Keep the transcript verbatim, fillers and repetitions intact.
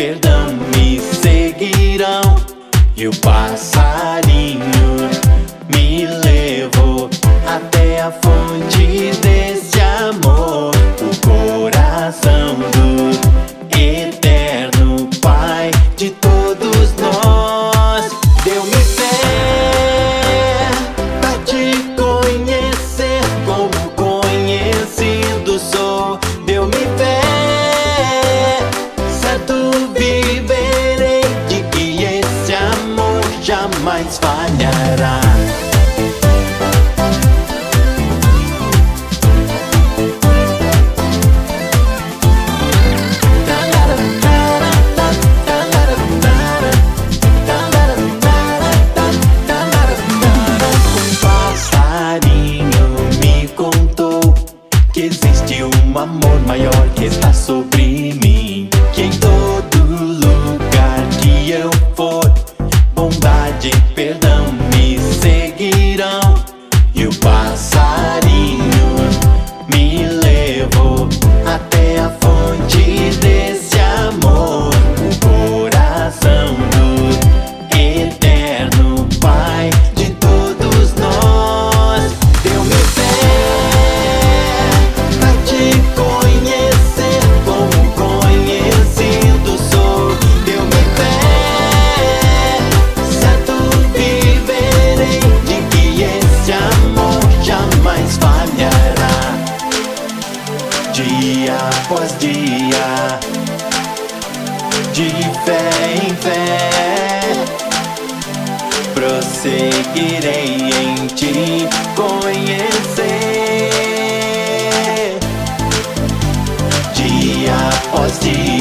perdão me seguirão. E o passarinho me levou até a fonte desse amor, o coração do eterno Pai de todos nós. Deu-me fé pra te conhecer como conhecido sou. Deu-me fé, certo viverei de que esse amor jamais falhará. Que existe um amor maior que está sobre mim, que em todo lugar que eu for, bondade e perdão me seguirão. E o passarinho me levou até a fonte desse amor, o coração do eterno Pai de todos nós. Deu-me fé dia após dia, de fé em fé, prosseguirei em te conhecer. Dia após dia.